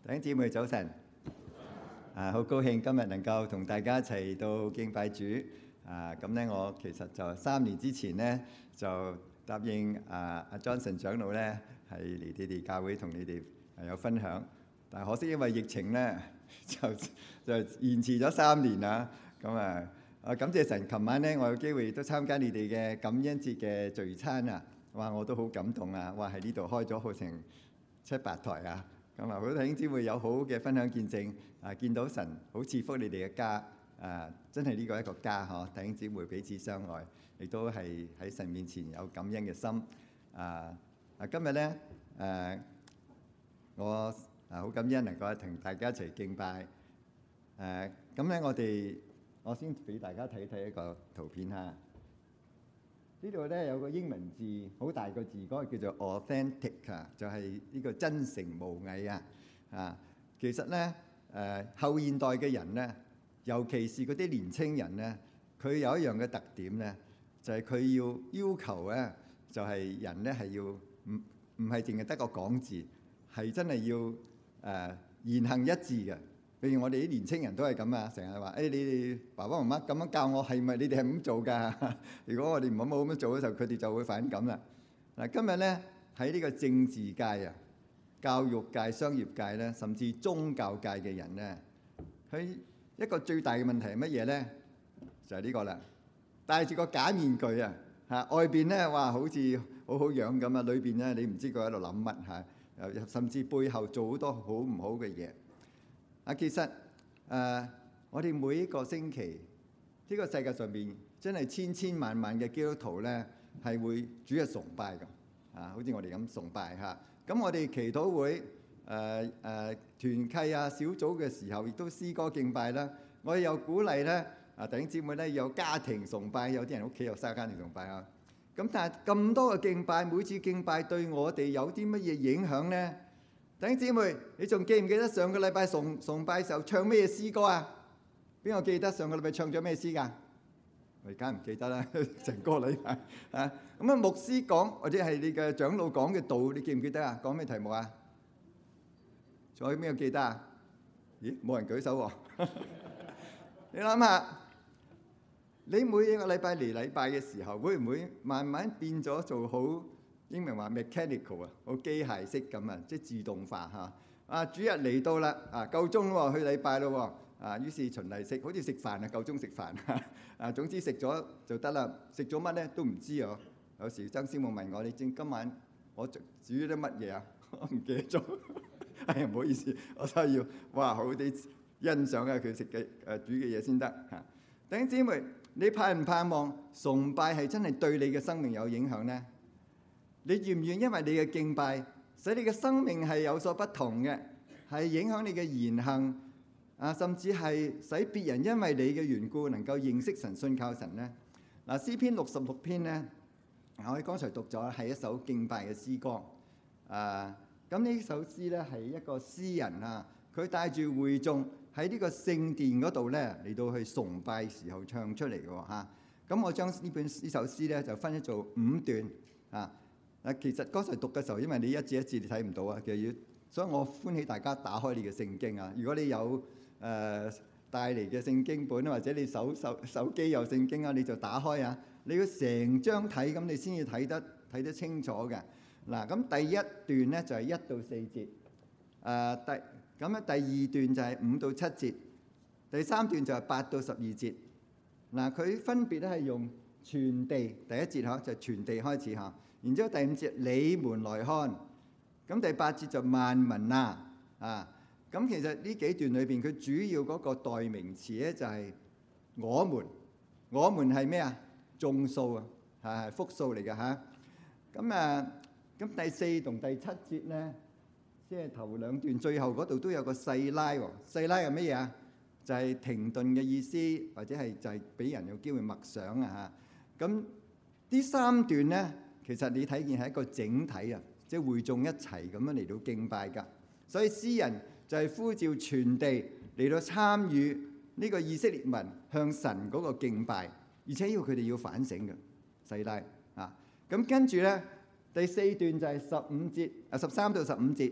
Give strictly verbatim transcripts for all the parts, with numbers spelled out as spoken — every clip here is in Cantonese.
弟兄姊妹早晨，啊，好高興今日能夠同大家一齊到敬拜主。啊，咁咧我其實就三年之前咧就答應啊阿 Johnson 長老咧係嚟你哋教會同你哋有分享，但係可惜因為疫情咧就就延遲咗三年啦。咁啊啊感謝神，琴晚咧我有機會都參加你哋嘅感恩節嘅聚餐啊，哇我都好感動啊！哇喺呢度開咗好成七八台啊！咁啊，好多弟兄姊妹有好嘅分享見證啊，見到神好賜福你哋嘅家啊，真係呢個一個家嗬！弟兄姊妹彼此相愛，亦都係喺神面前有感恩嘅心啊！啊，今日咧誒，我啊好感恩能夠同大家一齊敬拜誒，咁咧我哋我先俾大家睇睇一個圖片嚇。呢度咧有個英文字，好大個字，嗰個叫做 authentic 啊，就係呢個真誠無偽啊！啊，其實咧誒後現代嘅人咧，尤其是嗰啲年青人咧，佢有一樣嘅特點咧，就係佢要要求咧，就係人咧係要唔唔係淨係得個講字，係真係要誒言行一致嘅。譬如我哋啲年青人都係咁啊，成日話誒你哋爸爸媽媽咁樣教我，係咪你哋係咁做㗎？如果我哋唔好冇咁樣做嘅時候，佢哋就會反感啦。嗱，今日咧喺呢個政治界啊、教育界、商業界咧，甚至宗教界嘅人咧，佢一個最大嘅問題係乜嘢咧？就係呢個啦，戴住個假面具啊，嚇外邊咧哇好似好好樣咁啊，裏邊咧你唔知佢喺度諗乜嚇，又甚至背後做好多好唔好嘅嘢。啊，其實誒、呃，我哋每一個星期，呢、這個世界上邊真係千千萬萬嘅基督徒咧，係會主日崇拜㗎，啊，好似我哋咁崇拜嚇。咁、啊、我哋祈禱會誒誒、呃呃、團契啊小組嘅時候，亦都詩歌敬拜啦。我哋又鼓勵咧啊弟兄姊妹咧有家庭崇拜，有啲人屋企有生家庭崇拜啊。咁但係咁多嘅敬拜，每次敬拜對我哋有啲乜嘢影響咧？弟兄姊妹，你仲記唔記得上個禮拜崇崇拜時候唱咩詩歌啊？邊個記得上個禮拜唱咗咩詩㗎？我而家唔記得啦，成個禮拜啊！咁啊，牧師講或者係你嘅長老講嘅道，你記唔記得啊？講咩題目啊？仲有邊個記得啊？咦，冇人舉手喎！你諗下，你每一個禮拜嚟禮拜嘅時候，會唔會慢慢變咗做好？英文話 mechanical 啊，好機械式咁啊，即係自動化嚇。啊，主日嚟到啦，啊夠鐘喎，去禮拜咯喎。啊，於是循例食，好似食飯啊，夠鐘食飯。啊，總之食咗就得啦。食咗乜咧都唔知啊。有時曾師母問我：你正今晚我煮咗啲乜嘢啊？我唔記得咗。哎呀，唔好意思，我真係要哇好啲欣賞下佢食嘅誒煮嘅嘢先得嚇。弟兄姊妹，你盼唔盼望崇拜係真係對你嘅生命有影響咧？你願唔願因為你嘅敬拜，使你嘅生命係有所不同嘅，係影響你嘅言行啊，甚至係使別人因為你嘅緣故能夠認識神、信靠神咧？嗱，詩篇六十六篇咧，我哋剛才讀咗係一首敬拜嘅詩歌啊。咁呢首詩咧係一個詩人啊，佢帶住會眾喺呢個聖殿嗰度咧嚟到去崇拜時候唱出嚟嘅喎嚇。咁我將呢本呢首詩咧就分咗做五段啊。嗱，其實剛才讀嘅時候，因為你一字一字你睇唔到啊，其實要，所以我歡喜大家打開你嘅聖經啊。如果你有誒、呃、帶嚟嘅聖經本，或者你手手手機有聖經啊，你就打開啊。你要成張睇，咁你先至睇得睇得清楚嘅。嗱，咁第一段咧就係一到四節，誒、呃、第咁咧第二段就係五到七節，第三段就係八到十二節。嗱，佢分別咧係用全地第一節嚇，就係、全地開始嚇。然之後第五節你們來看，咁第八節就萬民啊，啊，咁其實呢幾段裏邊佢主要嗰個代名詞咧就係我們，我們係咩啊？眾數啊，係係複數嚟嘅嚇。咁啊，咁第四同第七節咧，即係頭兩段最後嗰度都有個細拉喎，細拉係乜嘢啊？就係停頓嘅意思，或者係就係俾人有機會默想啊嚇。咁呢三段咧。其實你睇見係一個整體啊，即係會眾一齊咁樣嚟到敬拜㗎。所以詩人就係呼召全地嚟到參與呢個以色列民向神嗰個敬拜，而且要佢哋要反省嘅。細拉啊，咁跟住咧第四段就係十五節啊，十三到十五節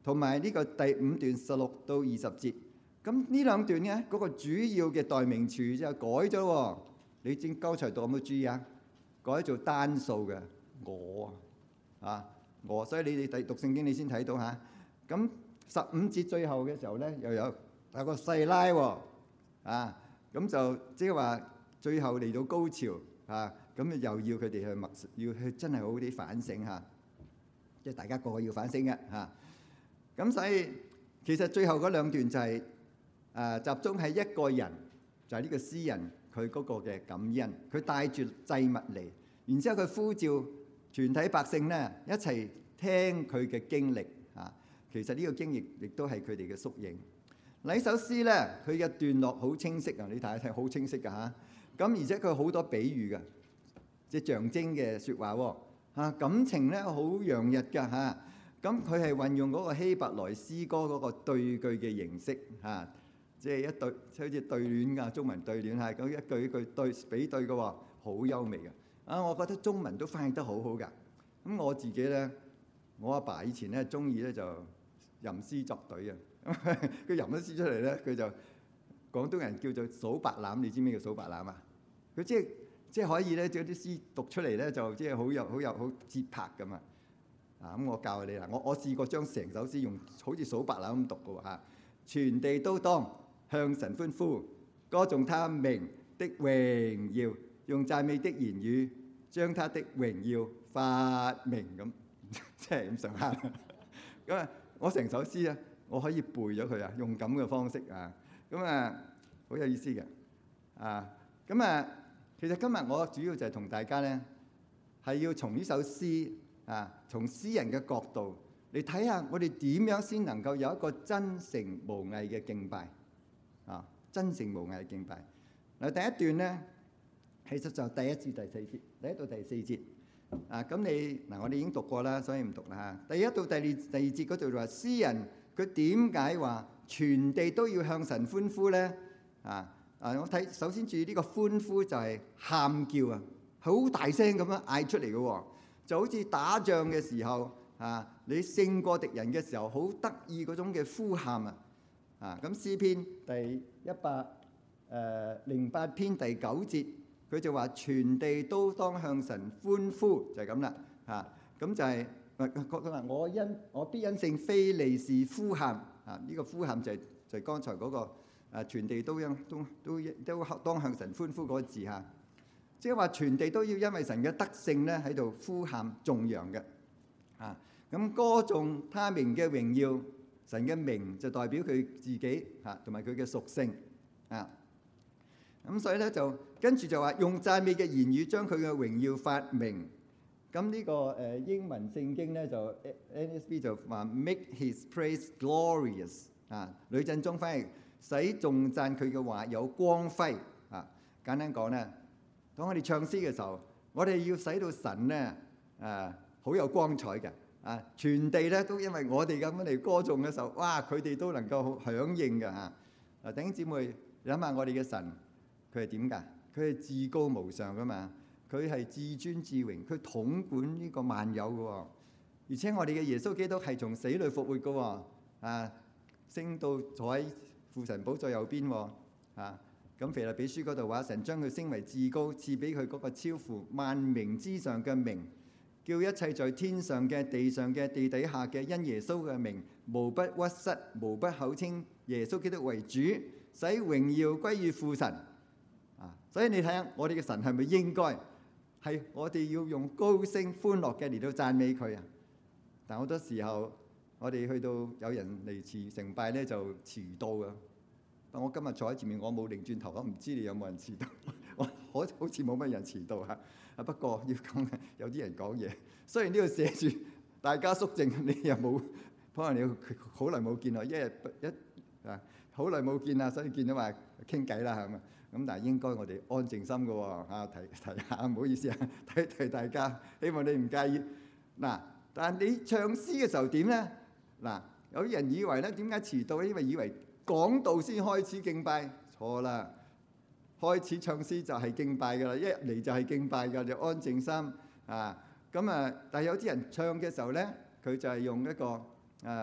同埋呢個第五段十六到二十節。咁呢兩段咧，嗰個主要嘅代名詞就改咗喎。你正剛才讀有冇注意啊？改做單數嘅我啊，我，所以你哋讀聖經你先睇到嚇。咁十五節最後嘅時候咧，又有有個細拉喎啊，咁就即係話最後嚟到高潮啊，咁又要佢哋去默，要去真係好啲反省嚇，即係大家個個要反省嘅嚇。咁所以其實最後嗰兩段就係誒集中喺一個人，就係呢個詩人佢嗰個嘅感恩，佢帶住祭物嚟，然之後佢呼召全體百姓咧一齊聽佢嘅經歷啊。其實呢個經歷亦都係佢哋嘅縮影。呢首詩咧，佢嘅段落好清晰啊！你睇一睇，好清晰㗎嚇。咁而且佢好多比喻㗎，即係象徵嘅説話喎嚇。感情咧好洋溢㗎嚇。咁佢係運用嗰個希伯來詩歌嗰個對句嘅形式嚇，即係一對好似對聯㗎，中文對聯係咁一句一句對比對嘅喎，好優美嘅。啊，我覺得中文都翻譯得好好㗎。咁我自己咧，我阿爸以前咧中意咧就吟詩作對啊。佢吟咗詩出嚟咧，佢就廣東人叫做數白欖。你知咩叫數白欖啊？佢即係即係可以咧，將啲詩讀出嚟咧，就即係好有好有好節拍咁啊！啊咁，我教你啦，我我試過將成首詩用好似數白欖咁讀嘅喎嚇。全地都當向神歡呼，歌頌他名的榮耀，用讚美的言語將他的榮耀發明咁，即係咁上下。咁啊，我成首詩啊，我可以背咗佢啊，用咁嘅方式啊，咁啊好有意思嘅啊。咁啊，其實今日我主要就係同大家咧，係要從呢首詩啊，從詩人嘅角度嚟睇下，我哋點樣先能夠有一個真誠無偽嘅敬拜啊！真誠無偽嘅敬拜。嗱，第一段咧，其實就第一至第四節，第一到第四節啊。咁你嗱，我哋已經讀過啦，所以唔讀啦嚇。第一到第二第二節嗰度就話，詩人佢點解話全地都要向神歡呼咧？啊啊！我睇首先注意呢個歡呼就係喊叫啊，好大聲咁樣嗌出嚟嘅喎，就好似打仗嘅時候啊，你勝過敵人嘅時候，好得意嗰種嘅呼喊啊！啊咁詩篇第一百誒零八篇第九節，佢就話全地都當向神歡呼，就係咁啦嚇。咁就係佢話我因我必因聖非利士呼喊啊！呢個呼喊就係就係剛才嗰個。啊！全地都因都都都當向神歡呼嗰個字嚇，即係話全地都要因為神嘅德性咧喺度呼喊頌揚嘅啊！咁歌頌他名嘅榮耀，神嘅名就代表佢自己嚇同埋佢嘅屬性啊！咁所以咧就跟住就話用讚美嘅言語將佢嘅榮耀發明。咁呢個誒英文聖經咧就 N S B 就話 make his praise glorious 啊，呂振中翻譯。使頌讚佢嘅話有光輝啊！簡單講咧，當我哋唱詩嘅時候，我哋要使到神咧啊好有光彩嘅啊！全地咧都因為我哋咁樣嚟歌頌嘅時候，哇！佢哋都能夠響應嘅嚇。嗱，弟兄姊妹諗下，我哋嘅神佢係點㗎？佢係至高無上㗎嘛，佢係至尊至榮，佢統管呢個萬有嘅喎。而且我哋嘅耶穌基督係從死裏復活嘅喎啊，升到坐喺父神寶座右邊喎，啊咁腓立比書嗰度話，神將佢升為至高，賜俾佢嗰個超乎萬名之上嘅名，叫一切在天上嘅、地上嘅、地底下嘅，因耶穌嘅名，無不屈膝，無不口稱耶穌基督為主，使榮耀歸於父神。啊，所以你睇下，我哋嘅神係咪應該係我哋要用高聲歡樂嘅嚟到讚美佢啊？但好多時候，我哋去到有人嚟遲成拜咧，就遲到㗎。但我今日坐喺前面，我冇擰轉頭，我唔知你有冇人遲到。我好好似冇乜人遲到嚇。啊不過要講，有啲人講嘢。雖然呢度寫住大家肅靜，你又冇，可能你好耐冇見啦，一日一啊好耐冇見啦，所以見到話傾偈啦，係咪？咁但係應該我哋安靜心嘅喎嚇，提提下，唔好意思啊，提提大家，希望你唔介意。嗱，但係你唱詩嘅時候點咧？嗱，有啲人以為咧，點解遲到咧？因為以為講道先開始敬拜，錯啦！開始唱詩就係敬拜㗎啦，一入嚟就係敬拜㗎，就安靜心啊！咁啊，但係有啲人唱嘅時候咧，佢就係用一個誒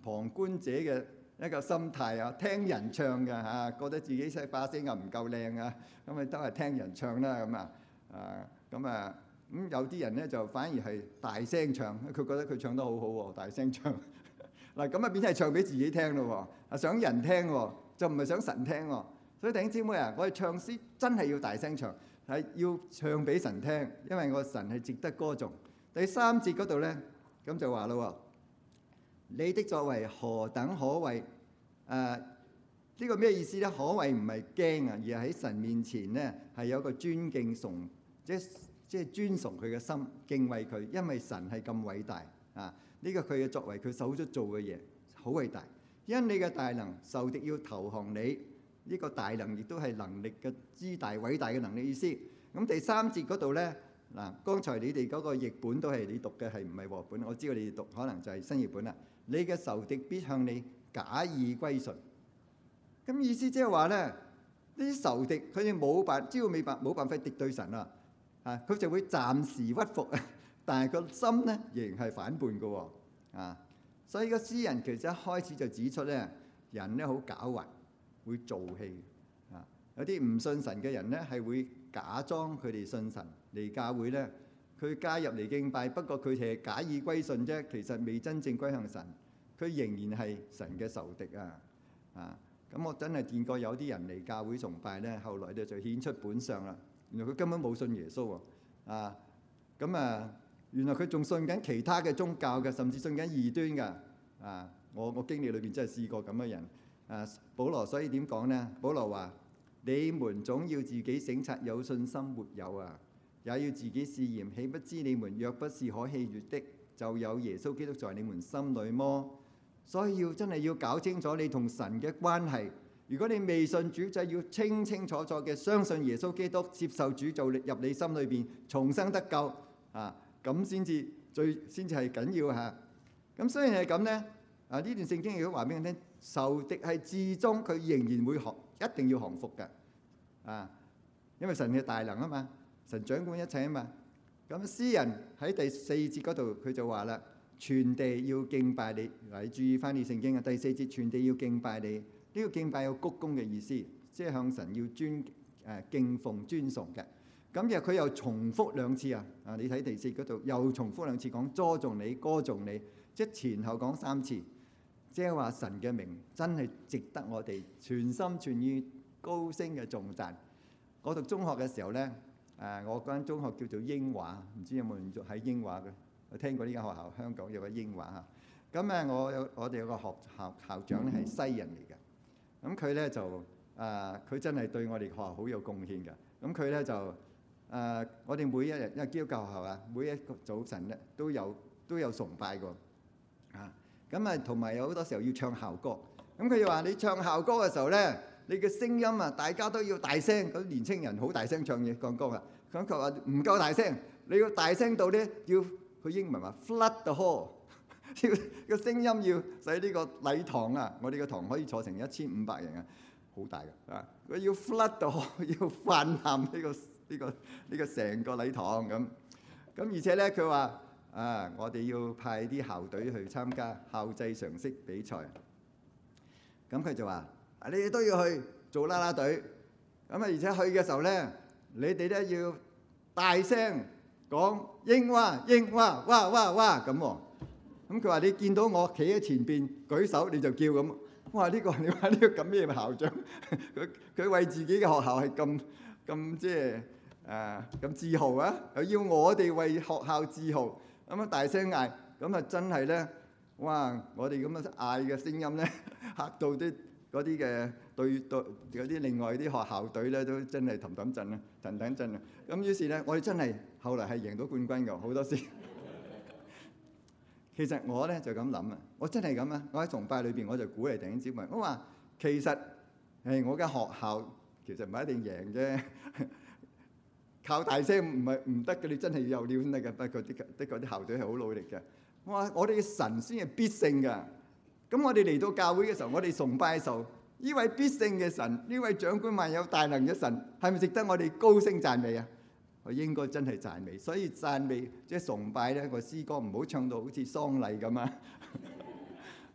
旁觀者嘅一個心態啊，聽人唱嘅嚇，覺得自己聲把聲又唔夠靚啊，咁咪都係聽人唱啦咁啊，啊咁啊咁有啲人咧就反而係大聲唱，佢覺得佢唱得好好喎，大聲唱嗱咁啊變咗係唱俾自己聽咯喎，啊想人聽喎，就唔係想神聽喎。所以弟兄姊妹啊，我哋唱詩真係要大聲唱，係要唱俾神聽，因為個神係值得歌頌。第三節嗰度咧，咁就話咯喎，你的作為何等可畏？誒、呃、呢、這個咩意思咧？可畏唔係驚啊，而係喺神面前咧係有個尊敬崇，即即係尊崇佢嘅心，敬畏佢，因為神係咁偉大啊！呢、這個佢嘅作為，佢手足做嘅嘢好偉大。因你嘅大能，仇敵要投降你。呢、這個大能亦都係能力嘅之大，偉大嘅能力意思。咁第三節嗰度咧，嗱，剛才你哋嗰個譯本都係你讀嘅，係唔係和本？我知道你哋讀可能就係新譯本啦。你嘅仇敵必向你假意歸順。咁意思即係話咧，呢啲仇敵佢哋冇辦，只要未辦冇辦法敵對神啊，啊，佢就會暫時屈服啊，但係個心咧仍然係反叛嘅喎，啊，所以個詩人其實一開始就指出咧，人咧好狡猾，會做戲啊，有啲唔信神嘅人咧係會假裝佢哋信神嚟教會咧，佢加入嚟敬拜，不過佢哋係假意歸順啫，其實未真正歸向神，佢仍然係神嘅仇敵啊，啊！咁我真係見過有啲人嚟教會崇拜咧，後來咧就顯出本相啦。原來佢根本冇信耶穌喎，啊咁啊，原來佢仲信緊其他嘅宗教嘅，甚至信緊異端㗎。啊，我我經歷裏邊真係試過咁嘅人。啊，保羅所以點講咧？保羅話：你們總要自己省察有信心沒有啊，也要自己試驗。豈不知你們若不是可喜悅的，就有耶穌基督在你們心裏麼？所以要真係要搞清楚你同神嘅關係。如果你未信主，就要清清楚楚嘅相信耶穌基督，接受主做入你心裏邊，重生得救啊！咁先至最先至係緊要嚇。咁雖然係咁咧，啊呢段聖經如果話俾你聽，仇敵係至終佢仍然會降，一定要降服嘅啊！因為神嘅大能啊嘛，神掌管一切啊嘛。咁詩人喺第四節嗰度佢就話啦。全地要敬拜你，嗱，你注意翻啲聖經啊！第四節，全地要敬拜你，呢、這個敬拜有鞠躬嘅意思，即係向神要尊誒、呃、敬奉尊崇嘅。咁又佢又重複兩次啊！啊，你睇第四嗰度又重複兩次講歌頌你、歌頌你，即係前後講三次，即係話神嘅名真係值得我哋全心全意高聲嘅頌讚。我讀中學嘅時候咧，誒、呃、我嗰間中學叫做英華，唔知有冇人喺英華嘅？我聽過呢間學校，香港有個英華嚇。咁咧，我有我哋有個學校校長咧係西人嚟嘅。咁佢咧就誒，佢、呃、真係對我哋學校好有貢獻嘅。咁佢咧就誒、呃，我哋每一日因為基督教學校啊，每一個早晨咧都有都有崇拜過啊。咁啊，同埋有好多時候要唱校歌。咁佢就話：你唱校歌嘅時候咧，你嘅聲音啊，大家都要大聲。嗰啲年青人好大聲唱嘢講歌啊。咁佢話唔夠大聲，你要大聲到咧要。佢英文話 flood the hall， 要個聲音要使呢個禮堂啊，我哋個堂可以坐成一千五百人啊，好大嘅啊！佢要 flood the hall， 要泛濫呢個呢個呢個成個禮堂咁。咁而且咧，佢話啊，我哋要派啲校隊去參加校際常識比賽。咁佢就話：啊，你哋都要去做啦啦隊。咁啊，而且去嘅時候咧，你哋咧要大聲。講英華英華哇哇哇咁喎，咁佢話你見到我企喺前邊舉手你就叫咁，哇呢個你話呢個咁咩校長？佢佢為自己嘅學校係咁咁即係誒咁自豪啊！又要我哋為學校自豪，咁樣大聲嗌，咁啊真係咧，哇！我哋咁樣嗌嘅聲音咧嚇到啲嗰啲嘅對對嗰啲另外啲學校隊咧都真係氹氹震啊，騰騰震啊！咁於是咧，我哋真係後來係贏到冠軍㗎，好多時。其實我咧就咁諗啊，我真係咁啊！我喺崇拜裏邊我就鼓勵弟兄姊妹，我話其實誒我間學校其實唔係一定贏啫，靠大聲唔係唔得嘅，你真係要有料先得嘅。不過啲的確啲校隊係好努力嘅。我話我哋嘅神先係必勝㗎。咁我哋嚟到教會嘅時候，我哋崇拜嘅時候，呢位必勝嘅神，呢位掌管萬有大能嘅神，係咪值得我哋高聲讚美啊？我應該真係讚美，所以讚美即係崇拜咧個詩歌唔好唱到好似喪禮咁啊！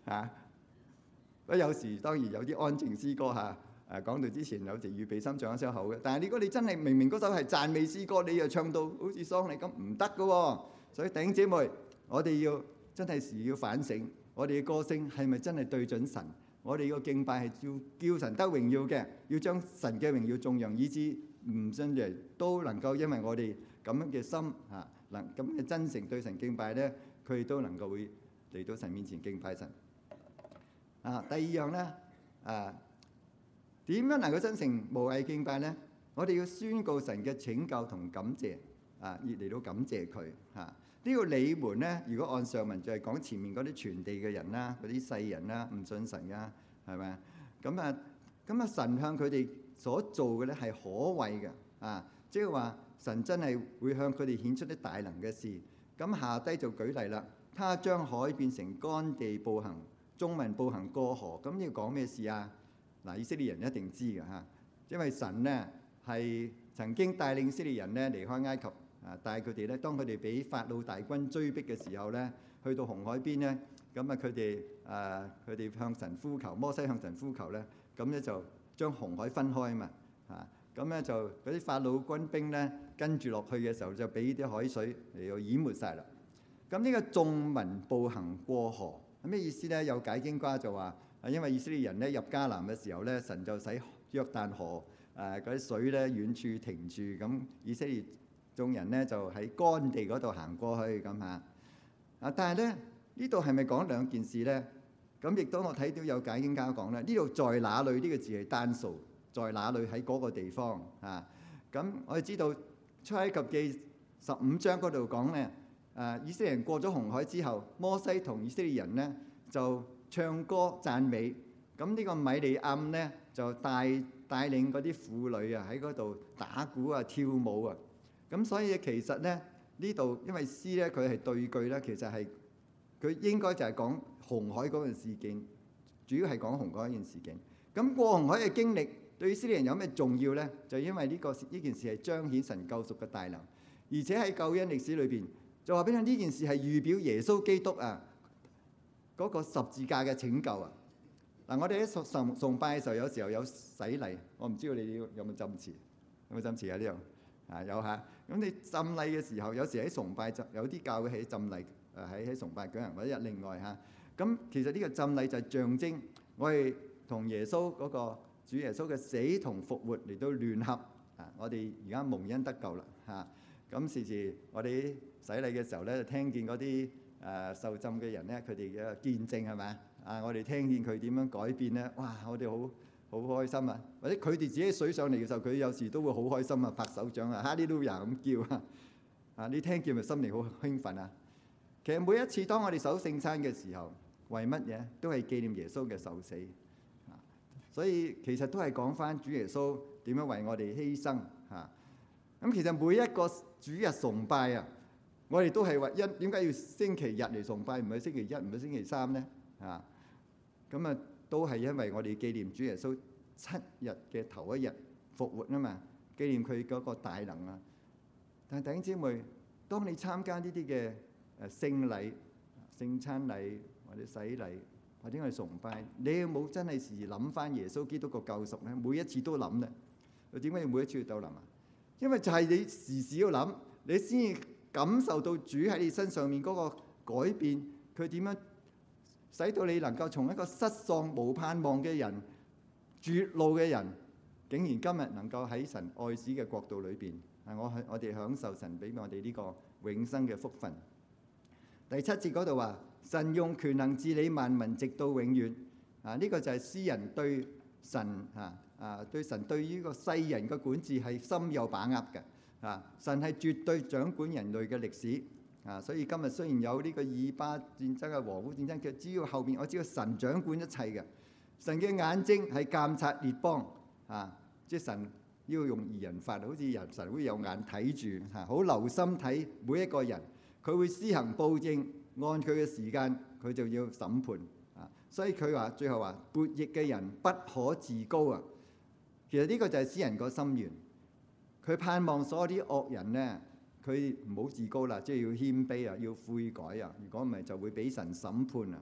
嚇。咁有時當然有啲安靜詩歌嚇，誒講到之前有時預備心唱一首口嘅。但係如果你真係明明嗰首係讚美詩歌，你又唱到好似喪禮咁，唔得㗎喎。所以弟兄姊妹，我哋要真係時要反省，我哋嘅歌聲係咪真係對準神？我哋個敬拜係要叫神得榮耀嘅，要將神嘅榮耀頌揚，以致唔信嘅都能夠因為我哋咁樣嘅心嚇，能咁嘅真誠對神敬拜咧，佢哋都能夠會嚟到神面前敬拜神。啊，第二樣咧，啊點樣能夠真誠無偽敬拜咧？我哋要宣告神嘅拯救同感謝，啊，而嚟到感謝佢嚇。呢個你們咧，如果按上文就係講前面嗰啲全地嘅人啦，嗰啲世人啦，唔信神噶，係咪啊？咁啊，咁啊，神向佢哋所做嘅咧係可畏嘅，啊，即係話神真係會向佢哋顯出啲大能嘅事。咁下低就舉例啦，他將海變成乾地步行，眾民步行過河。咁要講咩事啊？嗱，以色列人一定知嘅嚇，因為神咧係曾經帶領以色列人咧離開埃及。啊！但係佢哋咧，當佢哋俾法老大軍追逼嘅時候咧，去到紅海邊咧，咁啊佢哋啊佢哋向神呼求，摩西向神呼求咧，咁咧就將紅海分開啊嘛，啊咁咧就嗰啲法老軍兵咧跟住落去嘅時候，就俾啲海水嚟到淹沒晒啦。咁呢個眾民步行過河係咩意思咧？有解經家就話啊，因為以色列人咧入迦南嘅時候咧，神就使約旦河誒嗰啲水咧遠處停住，咁以色列眾人咧就喺乾地嗰度行過去咁嚇，啊！但係咧呢度係咪講兩件事咧？咁亦都我睇到有解經家講咧，呢度在哪裏呢個字係單數，在哪裏喺嗰個地方啊？咁我哋知道出埃及記十五章嗰度講咧，誒以色列人過咗紅海之後，摩西同以色列人咧就唱歌讚美，咁呢個米利暗咧就帶帶領嗰啲婦女啊喺嗰度打鼓啊跳舞啊。咁所以其實咧呢度因為詩咧佢係對句咧，其實係佢應該就係講紅海嗰件事件，主要係講紅海嗰件事件。咁過紅海嘅經歷對以色列人有咩重要咧？就因為呢個呢件事係彰顯神救贖嘅大能，而且喺救恩歷史裏邊就話俾你呢件事係預表耶穌基督啊嗰個十字架嘅拯救啊！嗱，我哋喺崇崇拜嘅時候，有時候有洗禮，我唔知道你哋有冇浸池，有冇浸池啊？呢度啊有嚇。咁你浸禮嘅時候，有時喺崇拜就有啲教會喺浸禮，誒喺喺崇拜舉行或者另外嚇。咁其實呢個浸禮就係象徵我哋同耶穌嗰個主耶穌嘅死同復活嚟到聯合啊！我哋而家蒙恩得救啦嚇。咁時時我哋洗禮嘅時候咧，就聽見嗰啲誒受浸嘅人咧，佢哋嘅見證係咪啊？我哋聽見佢點樣改變咧，哇！我哋好〜好開心啊！或者佢哋自己水上嚟嘅時候，佢有時都會好開心啊，拍手掌啊，哈利路亞咁叫啊！啊，你聽見咪心靈好興奮啊！其實每一次當我哋守聖餐嘅時候，為乜嘢？都係紀念耶穌嘅受死啊！所以其實都係講翻主耶穌點樣為我哋犧牲嚇。咁其實每一個主日崇拜啊，我哋都係話因點解要星期日嚟崇拜，唔係星期一，唔係星期三咧？啊，咁啊〜都係因為我哋紀念主耶穌七日嘅頭一日復活啊嘛，紀念佢嗰個大能啊。但係弟兄姊妹，當你參加呢啲嘅誒聖禮、聖餐禮或者洗禮或者我哋崇拜，你有冇真係時時諗翻耶穌基督個救贖咧？每一次都諗咧。佢點解要每一次都諗啊？因為就係你時時要諗，你先至感受到主喺你身上面嗰個改變，佢點樣使到你能夠從一個失喪無盼望嘅人、絕路嘅人，竟然今日能夠喺神愛子嘅國度裏邊，係我係我哋享受神俾我哋呢個永生嘅福分。第七節嗰度話：神用權能治理萬民，直到永遠。啊，呢、這個就係詩人對神啊啊對神對於個世人嘅管治係深有把握嘅。啊，神係絕對掌管人類嘅歷史。啊，所以今日雖然有呢個以巴戰爭啊、俄烏戰爭，其實只要後邊我知道神掌管一切嘅，神嘅眼睛係監察列邦啊，即係神要用擬人法，好似人神會有眼睇住嚇，好留心睇每一個人，佢會施行報應，按佢嘅時間佢就要審判啊。所以佢話最後話悖逆嘅人不可自高啊。其實呢個就係詩人個心願，佢盼望所有啲惡人咧。佢唔好自高啦，即係要謙卑啊，要悔改啊。如果唔係，就會俾神審判啊。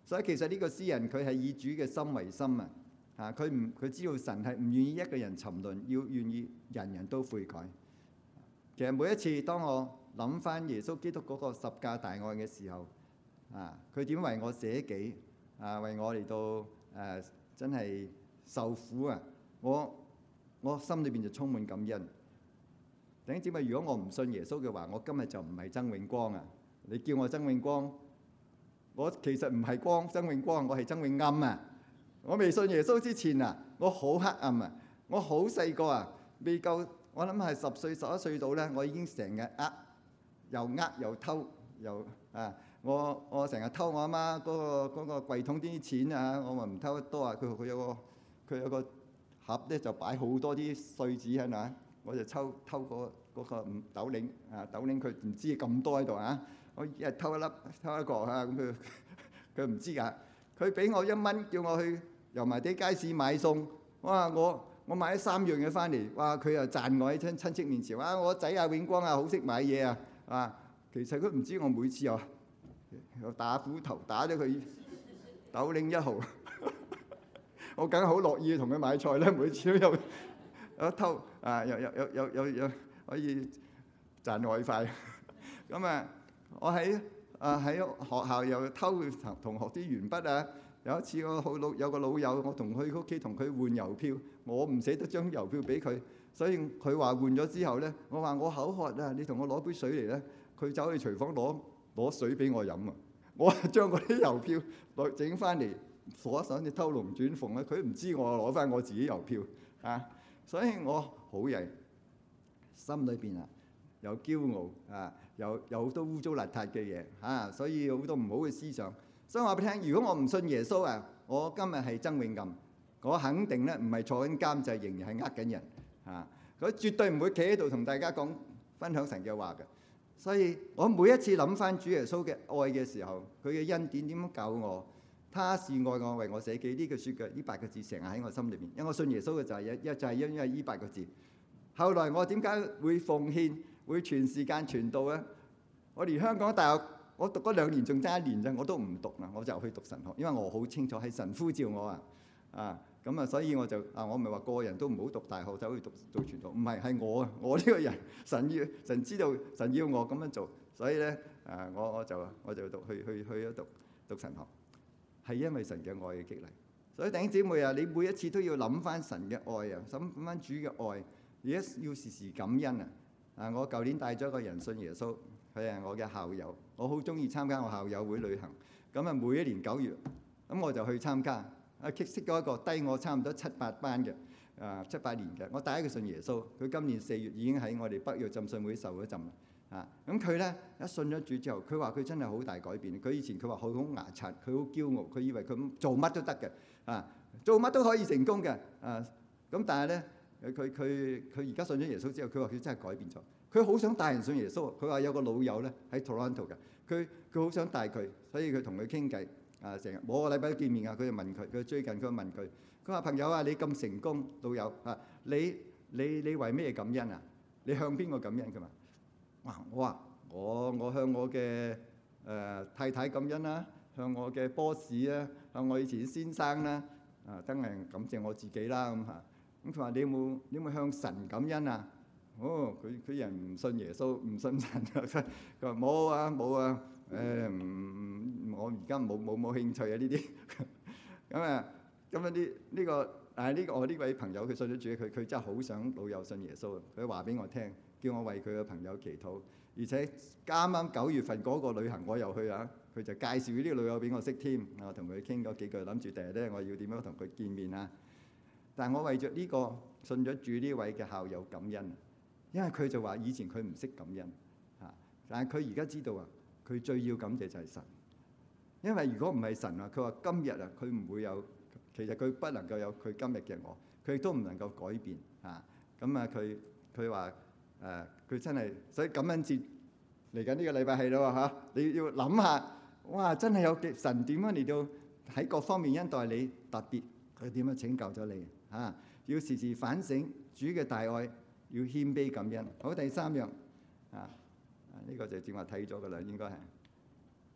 所以其實呢個詩人佢係以主嘅心為心啊！啊，佢唔佢知道神係唔願意一個人沉淪，要願意人人都悔改。其實每一次當我諗翻耶穌基督嗰個十架大愛嘅時候，啊，佢點為我捨己啊，為我嚟到誒、啊、真係受苦啊！我我心裏邊就充滿感恩。弟兄姊妹，如果我唔信耶穌嘅話，我今日就唔係曾永光啊！你叫我曾永光，我其實唔係光曾永光，我係曾永暗啊！我未信耶穌之前啊，我好黑暗啊！我好細個啊，未夠我諗係十歲十一歲到咧，我已經成日呃，又呃又偷又啊！我我成日偷我阿媽嗰個嗰個櫃桶啲錢啊！我話唔偷得多啊！佢佢有個佢有個盒咧，就擺好多啲碎紙喺度啊！我就抽偷嗰嗰個五斗零啊，斗零佢唔知咁多喺度啊！我一日偷一粒偷一個啊！咁佢佢唔知㗎。佢俾我一蚊，叫我去油麻地街市買餸。哇！我我買咗三樣嘢翻嚟，哇！佢又讚我喺親親戚面前，哇！我仔啊永光啊好識買嘢啊！啊，其實佢唔知我每次又又打斧頭打咗佢斗零一毫，我梗係好樂意同佢買菜啦。每次都有有偷啊，有有有有有有可以賺外快。咁啊，我喺啊喺學校又偷同同學啲鉛筆啊！有一次我好老有個老友，我同佢屋企同佢換郵票，我唔捨得將郵票俾佢，所以佢話換咗之後咧，我話我口渴啊，你同我攞杯水嚟咧，佢走去廚房攞攞水俾我飲啊！我將嗰啲郵票攞整翻嚟鎖上，你偷龍轉鳳咧，佢唔知我攞翻我自己郵票啊！所以我好曳，心裏邊啊有驕傲啊，有有好多污糟邋遢嘅嘢啊，所以好多唔好嘅思想。所以我話俾你聽，如果我唔信耶穌啊，我今日係曾永暗，我肯定咧唔係坐緊監製，仍然係呃緊人啊！佢絕對唔會企喺度同大家講分享神嘅話嘅。所以我每一次諗翻主耶穌嘅愛嘅時候，佢嘅恩典點樣救我？他是愛我，為我捨己，呢句説嘅呢八個字成日喺我心裏邊，因為我信耶穌嘅就係一一就係因為呢八個字。後來我點解會奉獻，會全時間傳道咧？我連香港大學我讀咗兩年，仲爭一年啫，我都唔讀啦，我就去讀神學，因為我好清楚係神呼召我啊，啊咁啊，所以我就啊，我唔係話個人都唔好讀大學走去讀做傳道，唔係係我啊，我呢個人神要神知道神要我咁樣做，所以咧啊，我我就我就讀去去去咗讀讀神學，係因為神嘅愛嘅激勵。所以弟兄姊妹啊，你每一次都要諗翻神嘅愛啊，諗翻主嘅愛，而家要時時感恩啊！啊，我舊年帶咗一個人信耶穌。佢係我嘅校友，我好中意參加我校友會旅行。咁啊，每一年九月，咁我就去參加。啊，識識咗一個低我差唔多七八班嘅，啊七八年嘅。我帶佢信耶穌，佢今年四月已經喺我哋北約浸信會受咗浸啦。啊，咁佢咧一信咗主之後，佢話佢真係好大改變。佢以前佢話佢好牙刷，佢好驕傲，佢以為佢做乜都得嘅，啊做乜都可以成功嘅，啊咁但係咧，佢佢佢而家信咗耶穌之後，佢話佢真係改變咗。佢好想帶人信耶穌，佢話有個老友咧喺 Toronto 嘅，佢佢好想帶佢，所以佢同佢傾偈，啊成日每個禮拜都見面啊，佢就問佢，佢最近佢問佢，佢話朋友啊，你咁成功，老友啊，你你你為咩感恩啊？你向邊個感恩㗎嘛？哇！我話我我向我嘅誒太太感恩啦，向我嘅 boss 啊，向我以前先生啦，啊真係感謝我自己啦咁嚇。咁佢話你有冇你有冇向神感恩啊？哦，佢佢人唔信耶穌，唔信神啊！佢話冇啊冇啊，誒唔我而家冇冇冇興趣啊呢啲。咁啊咁啊呢呢個啊呢個我呢位朋友佢信咗主，佢佢真係好想老友信耶穌啊！佢話俾我聽，叫我為佢嘅朋友祈禱，而且啱啱九月份嗰個旅行我又去啊，佢就介紹呢個老友俾我識添，我同佢傾咗幾句，諗住第日咧我要點樣同佢見面啊！但係我為著呢個信咗主呢位嘅校友感恩。因為佢就話以前佢唔識感恩嚇，但係佢而家知道啊，佢最要感謝就係神。因為如果唔係神啊，佢話今日啊，佢唔會有，其實佢不能夠有佢今日嘅我，佢亦都唔能夠改變嚇。咁啊，佢佢話誒，佢真係，所以感恩節嚟緊呢個禮拜係咯嚇，你要諗下，哇！真係有神點樣嚟到喺各方面恩待你，特別佢點樣拯救咗你嚇，要時時反省主嘅大愛。要謙卑感恩。好，第三樣啊，呢、這個就正話睇咗噶啦，應該係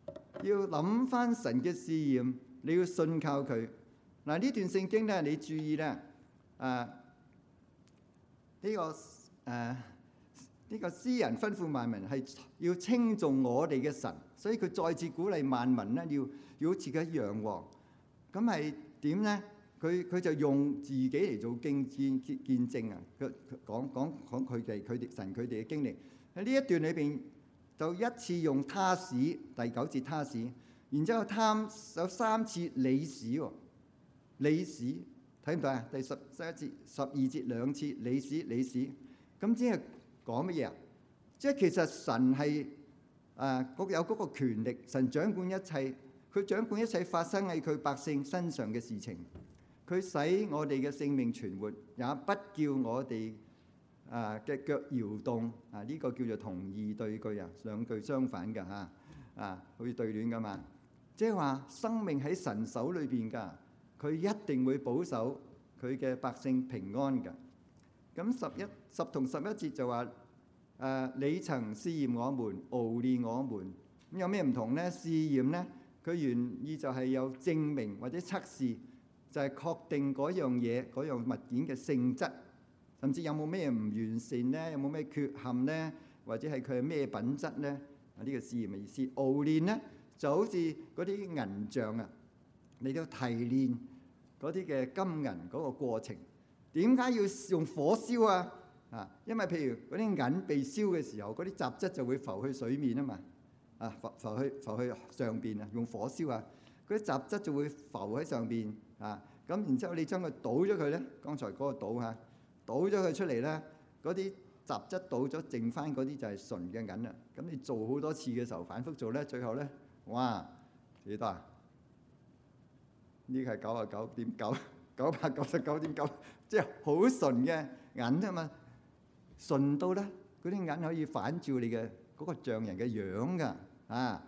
要諗翻神嘅試驗，你要信靠佢。嗱，呢段聖經咧，你注意咧，啊呢個誒呢個詩人吩咐萬民係要稱頌我哋嘅神，所以佢再次鼓勵萬民咧，要要好似佢一樣喎。咁係點咧？佢佢就用自己嚟做見見見證啊！佢講講講佢哋佢哋神佢哋嘅經歷喺呢一段裏邊，就一次用他使，第九節他使，然之後貪有三次你使喎，你使睇唔睇啊？第十十一節、十二節兩次你使你使，咁即係講乜嘢啊？即係其實神係誒嗰有嗰個權力，神掌管一切，佢掌管一切發生喺佢百姓身上嘅事情。佢使我哋嘅性命存活，也不叫我哋啊嘅腳搖動。啊，呢個叫做同義對句啊，兩句相反㗎嚇。啊，好似對聯㗎嘛。即係話生命喺神手裏邊㗎，佢一定會保守佢嘅百姓平安㗎。咁十一十同十一節就話誒，你曾試驗我們，熬煉我們。咁有咩唔同咧？試驗咧，佢原意就係有證明或者測試。就係確定嗰樣嘢、嗰樣物件嘅性質，甚至有冇咩唔完善咧，有冇咩缺陷咧，或者係佢係咩品質咧？啊，呢個試驗嘅意思。熬煉咧就好似嗰啲銀匠啊，你都提煉嗰啲嘅金銀嗰個過程。點解要用火燒啊？啊，因為譬如嗰啲銀被燒嘅時候，嗰啲雜質就會浮去水面啊嘛。啊，浮浮去浮去上邊啊，用火燒啊，嗰啲雜質就會浮喺上邊。啊，咁然之後你將佢倒咗佢咧，剛才嗰個倒嚇，倒咗佢出嚟咧，嗰啲雜質倒咗，剩翻嗰啲就係純嘅銀啦。咁你做好多次嘅時候，反覆做咧，最後咧，哇，幾多啊？呢個係九十九點九，九百九十九點九，即係好純嘅銀啊嘛，純到咧，嗰啲銀可以反照你嘅嗰個匠人嘅樣㗎，啊，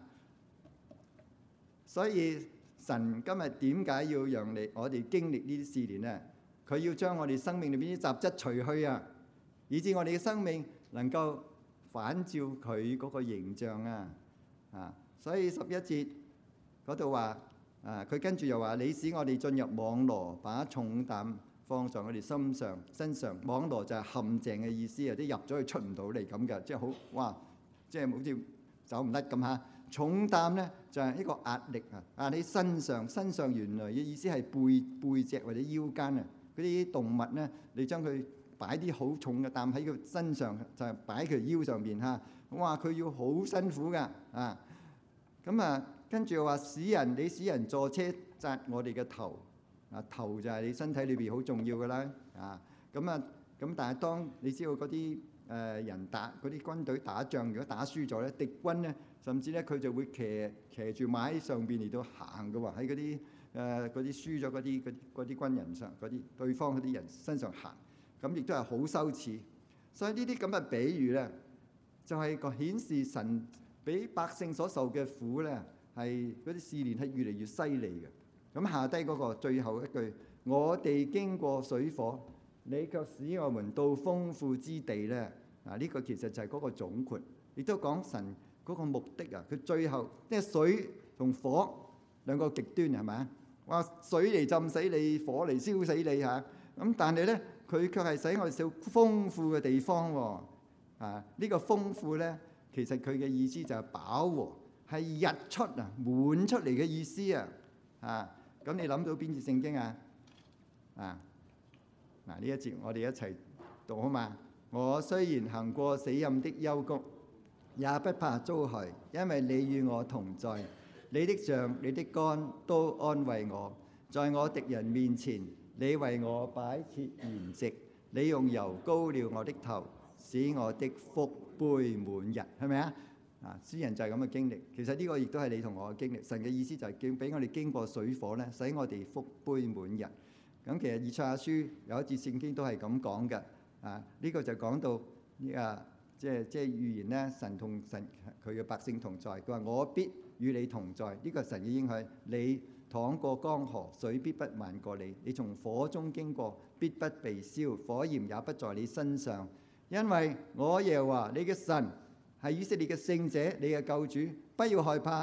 所以。神今日點解要讓你我哋經歷呢啲試煉咧？佢要將我哋生命裏邊啲雜質除去啊，以致我哋嘅生命能夠反照佢嗰個形象啊！啊，所以十一節嗰度話啊，佢跟住又話：你使我哋進入網羅，把重擔放上我哋心上身上。網羅就係陷阱嘅意思啊，即係入咗去出唔到嚟咁嘅，即係好哇，即係好似走唔甩咁嚇。重擔咧就係一個壓力啊，壓喺身上。身上原來嘅意思係背背脊或者腰間啊。嗰啲動物咧，你將佢擺啲好重嘅擔喺佢身上，就係擺佢腰上邊嚇。哇！佢要好辛苦噶啊。咁啊，跟住又話使人，你使人坐車紮我哋嘅頭啊。頭就係你身體裏邊好重要噶啦啊。咁啊，咁但係當你知道嗰啲誒人打嗰啲軍隊打仗，如果打輸咗咧，敵軍咧。甚至咧，佢就會騎騎住馬喺上邊嚟到行嘅喎，喺嗰啲誒嗰啲輸咗嗰啲嗰啲軍人上，嗰啲對方嗰啲人身上行，咁亦都係好羞恥。所以呢啲咁嘅比喻咧，就係個顯示神俾百姓所受嘅苦咧，係嗰啲試煉係越嚟越犀利嘅。咁下低嗰個最後一句，我哋經過水火，你卻使我們到豐富之地咧。啊，呢個其實就係嗰個總括，亦都講神。嗰個目的啊，佢最後即係水同火兩個極端係咪啊？哇！水嚟浸死你，火嚟燒死你嚇。咁但係咧，佢卻係使我哋少豐富嘅地方喎。啊，呢個豐富咧，其實佢嘅意思就係飽和，係日出啊，滿出嚟嘅意思啊。啊，咁你諗到邊節聖經啊？啊，嗱呢一節我哋一齊讀好嘛？我雖然行過死蔭的幽谷，也不怕遭害，因為你與我同在。你的杖、你的竿都安慰我。在我敵人面前，你為我擺設筵席。你用油膏了我的頭，使我的福杯滿溢。係咪啊？啊，詩人就係咁嘅經歷。其實呢個亦都係你同我嘅經歷。神嘅意思就係叫俾我哋經過水火咧，使我哋福杯滿溢。咁其實以賽亞書有一節聖經都係咁講嘅。啊，呢個就講到呢啊。即係即係預言咧，神同神佢嘅百姓同在。佢話：我必與你同在。呢個神嘅應許，你淌過江河，水必不漫過你；你從火中經過，必不被燒，火焰也不在你身上。因為我耶和華你嘅神係以色列嘅聖者，你嘅救主。不要害怕，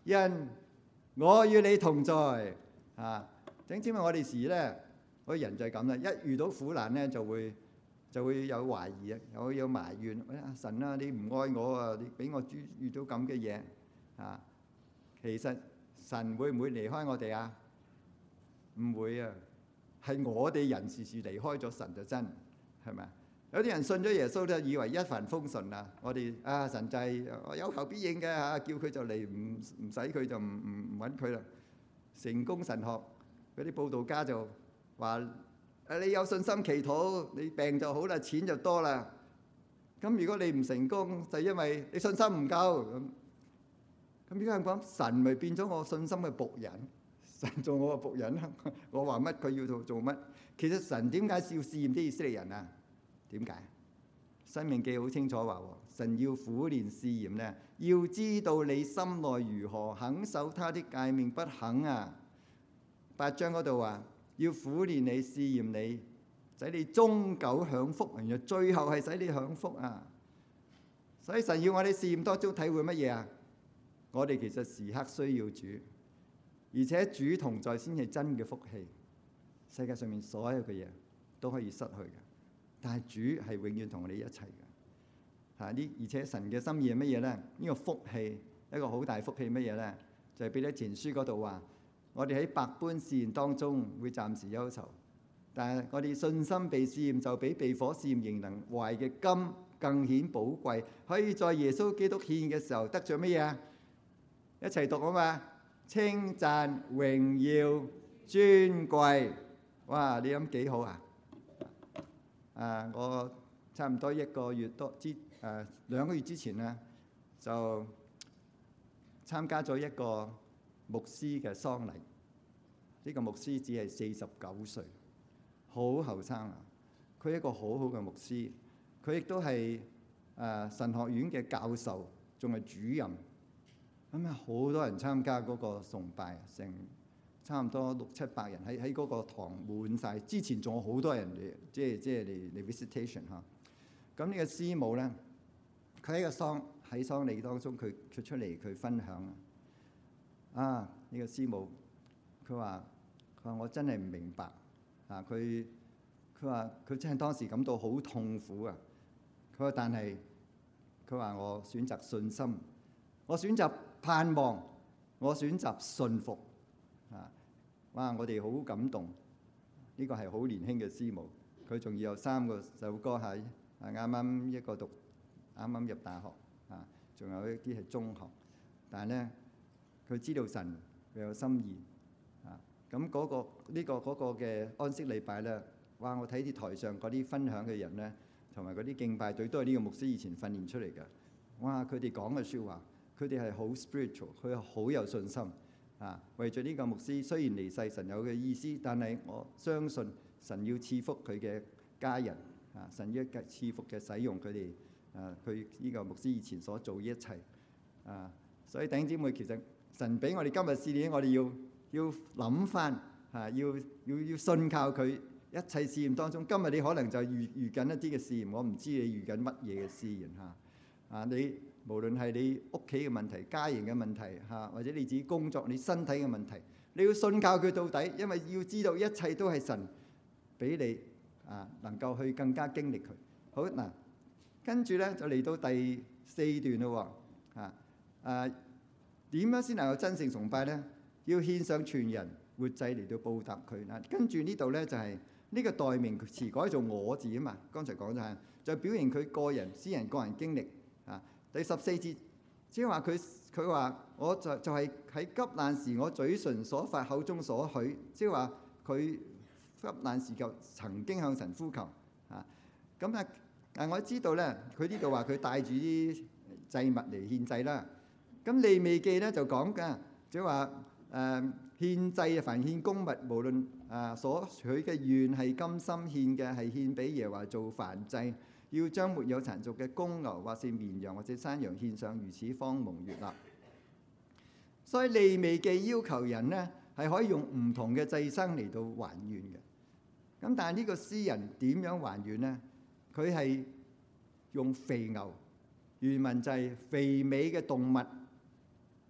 因我與你同在啊！整知咪我哋時咧，我哋人就係咁啦，一遇到苦難咧就會就會有懷疑啊，有有埋怨。啊神啊，你唔愛我啊！你俾我遇遇到咁嘅嘢啊！其實神會唔會離開我哋啊？唔會啊！係我哋人時時離開咗神就真，係咪啊？有啲人信咗耶穌就以為一帆風順啊！我哋啊神就係有求必應嘅嚇，叫佢就嚟，唔唔使佢就唔唔唔揾佢啦。成功神學嗰啲佈道家就話：誒你有信心祈禱，你病就好啦，錢就多啦。咁如果你唔成功，就因為你信心唔夠咁。咁點解咁講？神咪變咗我信心嘅僕人，神做我嘅僕人啦。我話乜佢要做做乜。其實神點解要試驗啲以色列人啊？點解？申命記好清楚話，神要苦練試驗咧，要知道你心內如何，肯守他的誡命不肯啊。八章嗰度話要苦練你，試驗你，使你終久享福，然後最後係使你享福啊。所以神要我哋試驗當中體會乜嘢啊？我哋其實時刻需要主，而且主同在先係真嘅福氣。世界上面所有嘅嘢都可以失去嘅，但係主係永遠同我哋一齊嘅。嚇呢，而且神嘅心意係乜嘢咧？呢個福氣一個好大福氣乜嘢咧？就係彼得前書嗰度話：我哋喺百般試驗當中會暫時憂愁，但係我哋信心被試驗就比被火試驗仍能壞嘅金更顯寶貴，可以在耶穌基督獻嘅時候得著乜嘢啊？一齊讀啊嘛！稱讚、榮耀、尊貴。哇！你諗幾好啊？啊！我差唔多一個月多之誒兩個月之前咧，就參加咗一個牧師嘅喪禮。呢個牧師只係四十九歲，好後生啊！佢係一個好好嘅牧師，佢亦都係誒神學院嘅教授，仲係主任。咁啊，好多人參加嗰個崇拜，成差唔多六七百人喺喺嗰個堂滿晒。之前仲有好多人嚟，即係即係嚟嚟 visitation 嚇。咁呢個師母咧，佢喺個喪喺喪禮當中，佢佢出嚟佢分享啊。呢個師母佢話佢話我真係唔明白啊！佢佢話佢真係當時感到好痛苦啊！佢話但係佢話我選擇信心，我選擇盼望，我選擇信服啊！哇！我哋好感動，呢個係好年輕嘅師母，佢仲要有三個首歌喺啊，啱啱一個讀啱啱入大學啊，仲有一啲係中學，但係咧佢知道神佢有心意啊！咁嗰個呢個嗰個嘅安息禮拜咧，哇！我睇啲台上嗰啲分享嘅人咧，同埋嗰啲敬拜隊都係呢個牧師以前訓練出嚟嘅。哇！佢哋講嘅説話，佢哋係好 spiritual，佢係好有信心啊！為咗呢個牧師，雖然離世神有嘅意思，但係我相信神要賜福佢嘅家人啊！神要賜福嘅使用佢哋啊！佢呢個牧師以前所做嘅一切啊！所以弟兄姊妹，其實神俾我哋今日試驗，我哋要要諗翻嚇，要要要信靠佢一切試驗當中。今日你可能就遇遇緊一啲嘅試驗，我唔知你遇緊乜嘢嘅試驗嚇啊！你無論係你屋企嘅問題、家庭嘅問題嚇，或者你自己工作、你身體嘅問題，你要信靠佢到底，因為要知道一切都係神俾你啊，能夠去更加經歷佢。好嗱，跟住咧就嚟到第四段咯喎嚇啊！點樣先能夠真正崇拜咧？要獻上全人活祭嚟到報答佢嗱。跟住呢度咧就係呢個代名詞改做我字啊嘛。剛才講咗係就表現佢個人私人個人經歷啊。第十四節即係話佢佢話我就就係喺急難時我嘴唇所發口中所許，即係話佢急難時就曾經向神呼求啊。咁啊啊我知道咧，佢呢度話佢帶住啲祭物嚟獻祭啦。咁利未記咧就講㗎，即係話誒獻祭啊，凡獻公物，無論啊所取嘅願係甘心獻嘅，係獻俾耶和華做燔祭，要將沒有殘俗嘅公牛或是綿羊或者山羊獻上，如此方蒙悅納。所以利未記要求人咧係可以用唔同嘅祭牲嚟到還願嘅。咁但係呢個詩人點樣還願咧？佢係用肥牛，原文就係肥美嘅動物。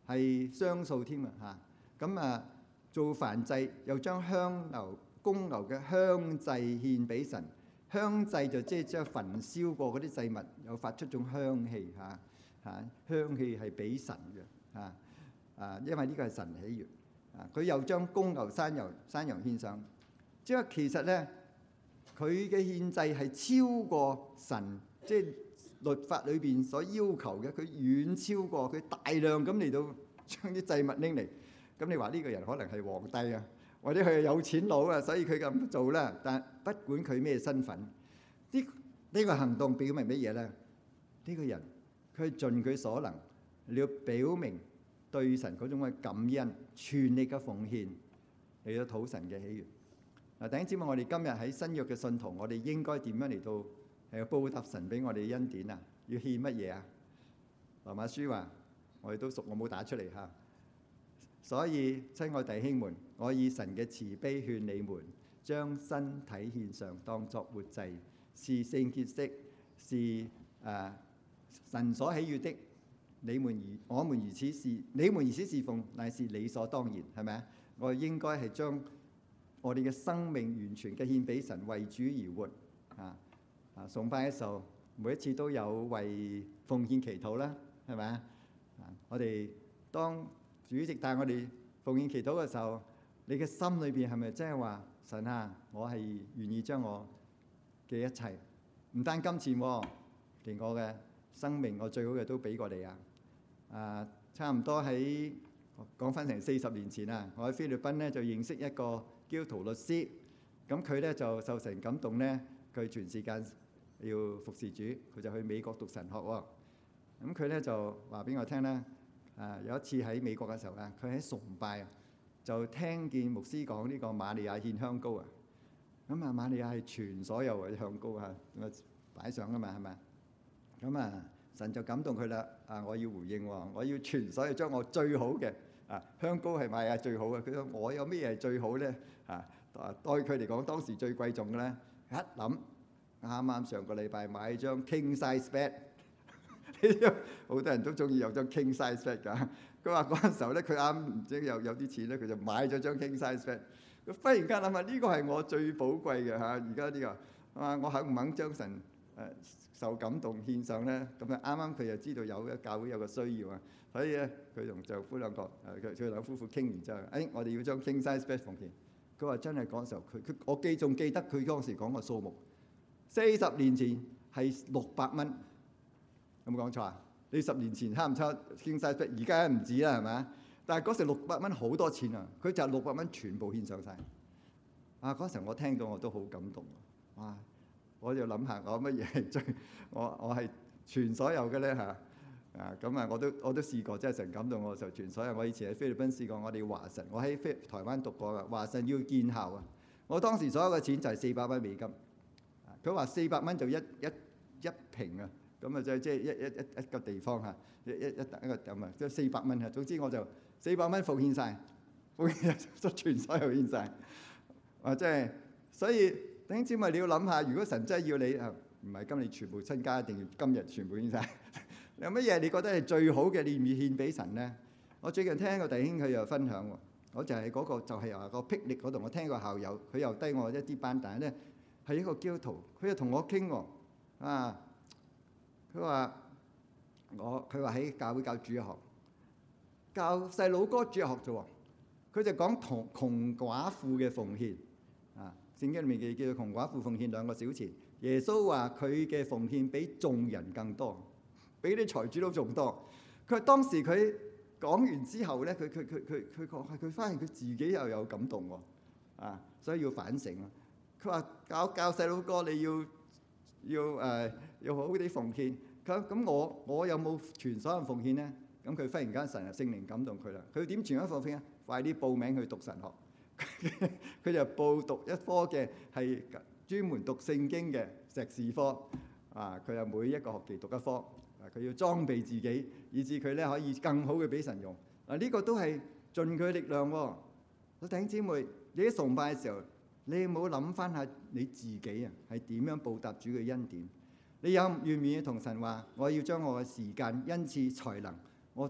係雙數添啊嚇。咁啊做燔祭又將香牛公牛嘅香祭獻俾神，香祭就即係將焚燒過嗰啲祭物，又發出種香氣嚇嚇，香氣係俾神嘅嚇啊，因為呢個係神喜悅啊。佢又將公牛、山牛、山羊獻上，即係其實咧，佢嘅獻祭係超過神即係律法裏邊所要求嘅，佢遠超過，佢大量咁嚟到將啲祭物拎嚟。咁你話呢個人可能係皇帝啊，或者佢係有錢佬啊，所以佢咁做啦。但不管佢咩身份，呢呢個行動表明乜嘢咧？呢個人佢盡佢所能，你要表明對神嗰種嘅感恩，全力嘅奉獻嚟到討神嘅喜悅。嗱，弟兄姊妹，我哋今日喺新約嘅信徒，我哋應該點樣嚟到係報答神俾我哋嘅恩典啊？要獻乜嘢啊？羅馬書話：我哋都熟，我冇打出嚟嚇。所以，親愛弟兄們，我以神嘅慈悲勸你們，將身體獻上，當作活祭，是聖潔的，是誒、呃、神所喜悅的。你們如我們如此是你們如此侍奉，乃是理所當然，係咪啊？我應該係將我哋嘅生命完全嘅獻俾神，為主而活啊！啊，崇拜嘅時候，每一次都有為奉獻祈禱啦，係咪啊？啊，我哋當主席帶我哋奉獻祈禱嘅時候，你嘅心裏邊係咪真係話神啊？我係願意將我嘅一切，唔單金錢喎，連我嘅生命，我最好嘅都俾過你啊！啊，差唔多喺講翻成四十年前啊，我喺菲律賓咧就認識一個基督徒律師，咁佢咧就受神感動咧，佢全時間要服侍主，佢就去美國讀神學喎。咁佢咧就話俾我聽咧。啊！有一次喺美國嘅時候啊，佢喺崇拜啊，就聽見牧師講呢個瑪利亞獻香膏啊。咁啊，瑪利亞係全所有嘅香膏啊，咁啊擺上噶嘛，係咪？咁啊，神就感動佢啦。啊，我要回應喎，我要全所有將我最好嘅啊香膏係瑪利亞最好嘅。佢話我有咩係最好咧？啊，對佢嚟講當時最貴重嘅咧，一諗啱啱上個禮拜買張 king size bed。好多人都中意有張 king size bed 㗎。佢話嗰陣時候咧，佢啱唔知有有啲錢咧，佢就買咗張 king size bed。佢忽然間諗下，呢個係我最寶貴嘅嚇。而家呢個啊，我肯唔肯將神誒受感動獻上咧？咁啊，啱啱佢又知道有嘅教會有個需要啊，所以咧佢同丈夫兩個誒佢佢兩夫婦傾完之後，誒我哋要將 king size bed 奉獻。佢話真係嗰陣時候，佢佢我記仲記得佢當時講個數目，四十年前係六百蚊。有冇講錯啊？你十年前差唔差 king size bed，而家唔止啦，係咪？但係嗰時六百蚊好多錢啊！佢就六百蚊全部獻上晒。啊！嗰時我聽到我都好感動啊！哇！我就諗下我乜嘢係最我我係全所有嘅咧嚇啊！咁啊，我都我都試過，真係神感動我就全所有。我以前喺菲律賓試過，我哋華神，我喺菲台灣讀過嘅華神要建校啊！我當時所有嘅錢就係四百蚊美金。佢話四百蚊就一一一平啊！咁啊，即係即係一一一一個地方嚇，一一一一個咁啊，即係四百蚊啊。總之我就四百蚊奉獻曬，奉獻咗全所有獻曬。啊，即係所以弟兄姊妹你要諗下，如果神真係要你啊，唔係今日全部身家，一定要今日全部獻曬。有乜嘢你覺得係最好嘅，你願意獻俾神咧？我最近聽個弟兄佢又分享喎，我就係嗰個就係話個霹靂嗰度，我聽個校友佢又低我一啲班，但係咧係一個基督徒，佢又同我傾喎啊。佢話：我佢話喺教會教主日學，教細佬哥主日學啫喎。佢就講同窮寡婦嘅奉獻啊。聖經裏面嘅叫做窮寡婦奉獻兩個小錢。耶穌話佢嘅奉獻比眾人更多，比啲財主都仲多。佢當時佢講完之後咧，佢佢佢佢佢講係佢發現佢自己又有感動喎啊，所以要反省啊。佢話教教細佬哥你要。要誒、呃、要好啲奉獻，咁咁我我有冇全所有奉獻咧？咁佢忽然間神啊聖靈感動佢啦，佢點全所有奉獻啊？快啲報名去讀神學，佢就報讀一科嘅係專門讀聖經嘅碩士科啊！佢又每一個學期讀一科，啊佢要裝備自己，以致佢咧可以更好嘅俾神用。嗱、啊、呢、這個都係盡佢力量喎、哦。弟兄姊妹，你喺崇拜嘅時候。你有冇諗翻下你自己啊？係點樣報答主嘅恩典？你有願唔願意同神話？我要將我嘅時間、恩賜、才能，我都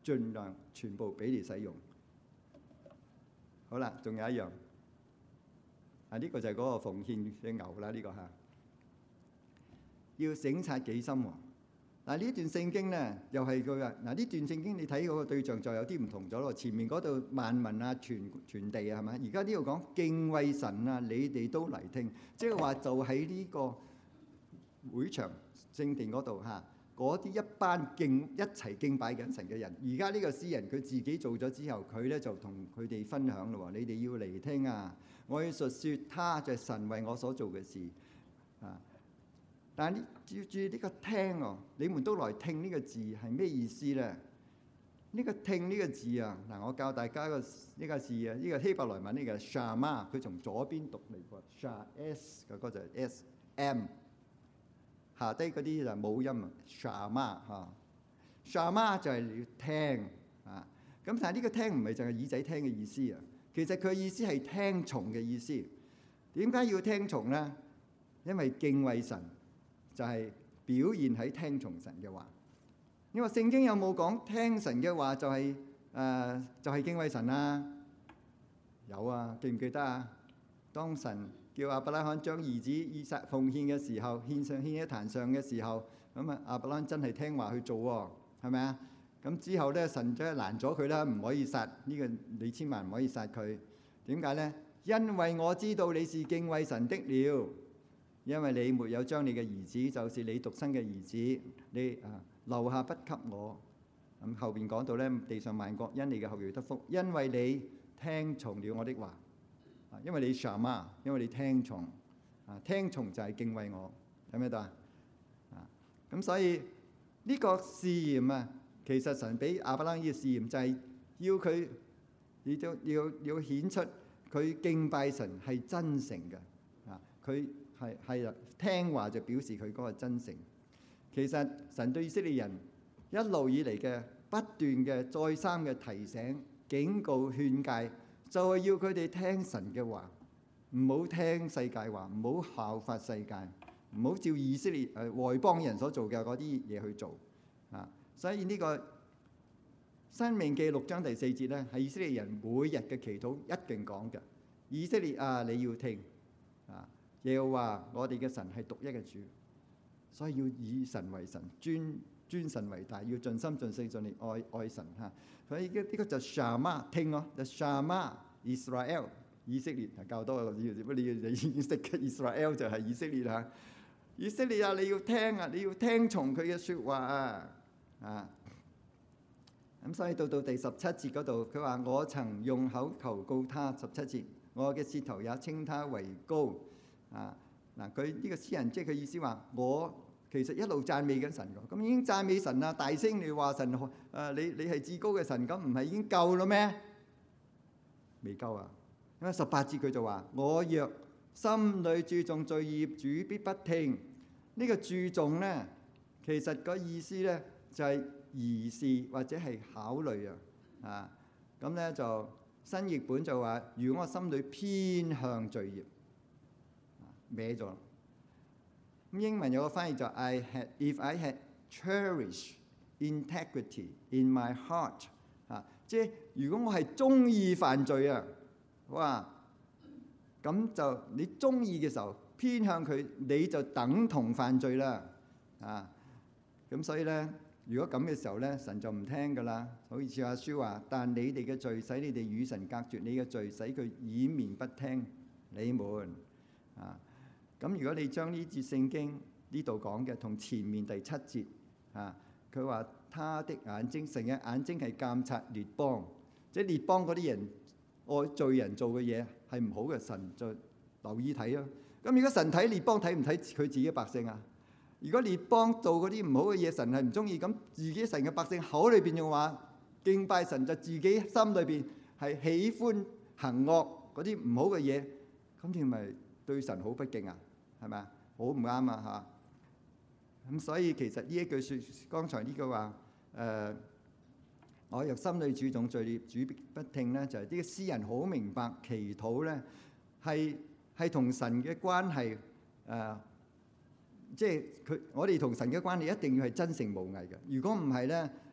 盡量全部俾你使用。好啦，仲有一樣啊，呢個就係嗰個奉獻嘅牛啦，呢個嚇要省察己心喎。嗱，呢段聖經咧，又係佢話嗱，呢段聖經你睇嗰個對象就有啲唔同咗咯。前面嗰度萬民啊，全全地啊，係咪？而家呢度講敬畏神啊，你哋都嚟聽，即係話就喺呢個會場聖殿嗰度嚇，嗰啲一班敬一齊敬拜緊神嘅人。而家呢個詩人佢自己做咗之後，佢咧就同佢哋分享咯喎，你哋要嚟聽啊！我要述説他就係神為我所做嘅事啊！但係呢，要注意呢個聽哦，你們都來聽呢個字係咩意思咧？呢個聽呢個字啊，嗱，我教大家個呢個字啊，呢個希伯來文呢個 shama，佢從左邊讀嚟喎 ，sha s 嘅嗰就係 s m， 下低嗰啲就冇音啊 ，shama 嚇 ，shama 就係你要聽啊。咁但係呢個聽唔係淨係耳仔聽嘅意思啊，其實佢意思係聽從嘅意思。點解要聽從咧？因為敬畏神。就係表現喺聽從神嘅話。你話聖經有冇講聽神嘅話就係、是、誒、呃、就係、是、敬畏神啊？有啊，記唔記得啊？當神叫亞伯拉罕將兒子以撒奉獻嘅時候，獻上獻喺壇上嘅時候，咁啊亞伯拉罕真係聽話去做喎，係咪啊？咁之後咧，神真係攔咗佢啦，唔可以殺呢、這個你千萬唔可以殺佢。點解咧？因為我知道你是敬畏神的了。因為你沒有將你嘅兒子，就是你獨生嘅兒子，你啊留下不給我。咁後邊講到咧，地上萬國因你嘅後裔得福，因為你聽從了我的話。啊，因為你 shama， 因為你聽從。啊，聽從就係敬畏我，睇唔睇到啊？啊，咁所以呢個試驗啊，其實神俾亞伯拉罕嘅試驗就係要佢，亦都要要顯出佢敬拜神係真誠嘅。啊，佢。係係啦，聽話就表示佢嗰個真誠。其實神對以色列人一路以嚟嘅不斷嘅再三嘅提醒、警告、勸誡，就係要佢哋聽神嘅話，唔好聽世界話，唔好效法世界，唔好照以色列誒外邦人所做嘅嗰啲嘢去做啊。所以呢個申命記六章第四節咧，係以色列人每日嘅祈禱一定講嘅。以色列啊，你要聽啊！耶和華我哋嘅神係獨一嘅主，所以要以神為神，尊尊神為大，要盡心盡性盡力愛愛神嚇。所以呢個就 shama 聽咯，就 shama Israel 以色列係較多嘅，你要你要你識嘅 Israel 就係以色列嚇。以色列啊，你要聽啊，你要聽從佢嘅説話啊啊！咁所以到到第十七節嗰度，佢話我曾用口求告他，十七節，我嘅舌頭也稱他為高。啊嗱，佢呢個詩人即係佢意思話，我其實一路讚美緊神㗎，咁已經讚美神啦，大聲你話神誒、呃、你你係至高嘅神，咁唔係已經夠啦咩？未夠啊！因為十八節佢就話：我若心裏注重罪孽，主必不聽。呢、這個注重咧，其實個意思咧就係疑視或者係考慮啊啊！咁咧就新譯本就話：如果我心裏偏向罪孽。歪咗，咁英文有個翻譯就 I had if I had cherished integrity in my heart 啊，即係如果我係中意犯罪啊，哇，咁就你中意嘅時候偏向佢，你就等同犯罪啦啊！咁所以咧，如果咁嘅時候咧，神就唔聽噶啦。好似阿書話，但你哋嘅罪使你哋與神隔絕，你嘅罪使佢掩面不聽你們啊。咁如果你將呢節聖經呢度講嘅同前面第七節啊，佢話他的眼睛，神嘅眼睛係監察列邦，即係列邦嗰啲人愛罪人做嘅嘢係唔好嘅，神就留意睇咯。咁如果神睇列邦睇唔睇佢自己嘅百姓啊？如果列邦做嗰啲唔好嘅嘢，神係唔中意，咁自己神嘅百姓口裏邊嘅話敬拜神，就自己心裏邊係喜歡行惡嗰啲唔好嘅嘢，咁你咪對神好不敬啊？係咪啊？好唔啱啊！嚇咁，所以其實呢一句説，剛才呢句話，誒、呃，我若心裏注重罪孽，主必不聽咧，就係、是、啲詩人好明白祈禱咧，係係同神嘅關係，誒、呃，即係佢我哋同神嘅關係一定要係真誠無偽嘅。如果唔係咧，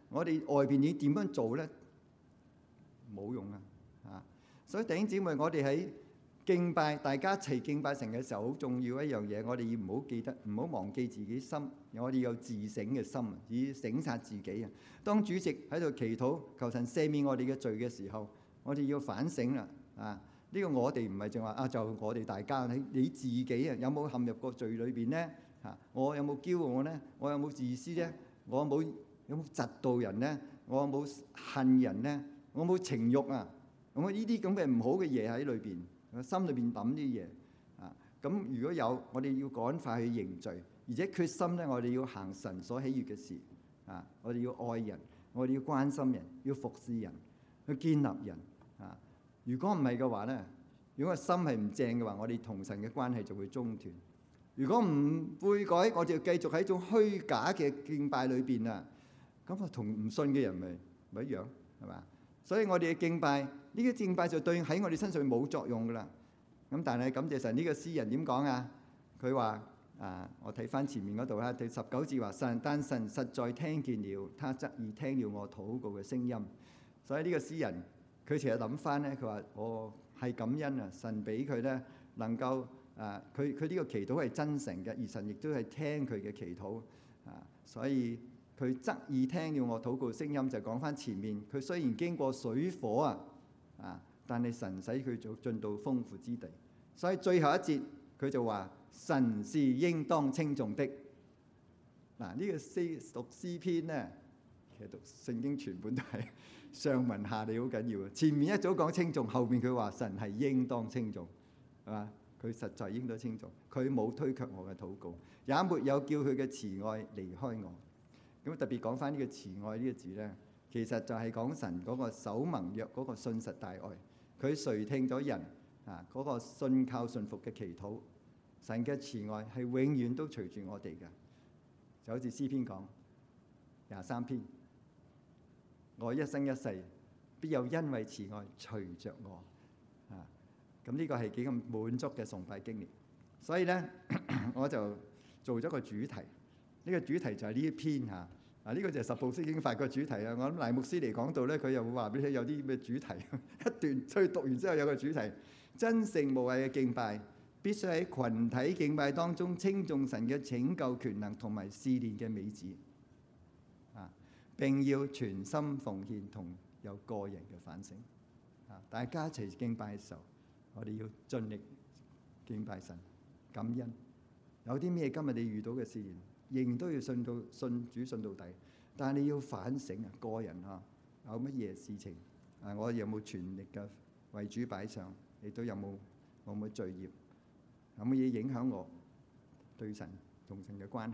我哋外邊你點樣做咧？冇用啊！啊，所以弟兄姊妹，我哋喺敬拜，大家一齊敬拜神嘅時候，好重要一樣嘢，我哋要唔好記得，唔好忘記自己心，我哋有自省嘅心啊，以省察自己啊。當主席喺度祈禱求神赦免我哋嘅罪嘅時候，我哋要反省啦！啊，呢個我哋唔係淨話啊，就我哋大家，你你自己啊，有冇陷入過罪裏邊咧？啊，我有冇驕傲咧？我有冇自私咧？我有冇有冇嫉妒人咧？我有冇恨人咧？我有冇情慾啊？咁呢啲咁嘅唔好嘅嘢喺裏邊，心裏邊諗啲嘢啊。咁如果有，我哋要趕快去認罪，而且決心咧，我哋要行神所喜悅嘅事啊。我哋要愛人，我哋要關心人，要服侍人，去建立人啊。如果唔係嘅話咧，如果個心係唔正嘅話，我哋同神嘅關係就會中斷。如果唔悔改，我哋就繼續喺一種虛假嘅敬拜裏邊啊。咁啊，同唔信嘅人咪咪一樣，係嘛？所以我哋嘅敬拜，呢個敬拜就對喺我哋身上冇作用噶啦。咁但係感謝神，呢個詩人點講啊？佢話啊，我睇翻前面嗰度啊，第十九節話神，但神實在聽見了，他側耳聽了我禱告嘅聲音。所以呢個詩人佢其實諗翻咧，佢話我係感恩啊，神俾佢咧能夠啊，佢佢呢個祈禱係真誠嘅，而神亦都係聽佢嘅祈禱啊，所以。佢側耳聽了我禱告聲音，就講翻前面。佢雖然經過水火啊，啊，但係神使佢做進到豐富之地。所以最後一節佢就話：神是應當稱頌的。嗱、啊，呢、這個詩讀詩篇咧，其實讀聖經全本都係上文下理好緊要啊。前面一早講稱頌，後面佢話神係應當稱頌，係嘛？佢實在應當稱頌，佢冇推卻我嘅禱告，也沒有叫佢嘅慈愛離開我。咁特別講翻呢個慈愛呢個字咧，其實就係講神嗰個守盟約嗰個信實大愛，佢垂聽咗人啊嗰個信靠信服嘅祈禱，神嘅慈愛係永遠都隨住我哋嘅，就好似詩篇講廿三篇，我一生一世必有恩惠慈愛隨着我啊！咁呢個係幾咁滿足嘅崇拜經歷，所以咧我就做咗個主題。呢個主題就係呢一篇嚇，啊呢個就係十步釋經法個主題啊！我諗賴牧師嚟講到咧，佢又會話俾你聽有啲咩主題，一段所以讀完之後有個主題，真誠無偽嘅敬拜，必須喺羣體敬拜當中稱頌神嘅拯救權能同埋試煉嘅美旨啊！並要全心奉獻同有個人嘅反省啊！大家一齊敬拜嘅時候，我哋要盡力敬拜神，感恩。有啲咩今日你遇到嘅試驗？仍然都要信到信主信到底，但係你要反省啊，個人啊，有乜嘢事情啊？我有冇全力嘅為主擺上？你都有冇有冇罪孽？有乜嘢影響我對神同神嘅關